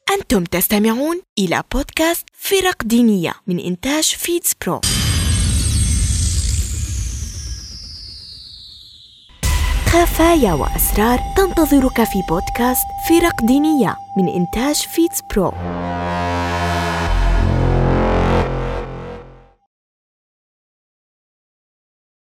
أنتم تستمعون إلى بودكاست فرق دينية من إنتاج فيدز برو. خفايا وأسرار تنتظرك في بودكاست فرق دينية من إنتاج فيدز برو.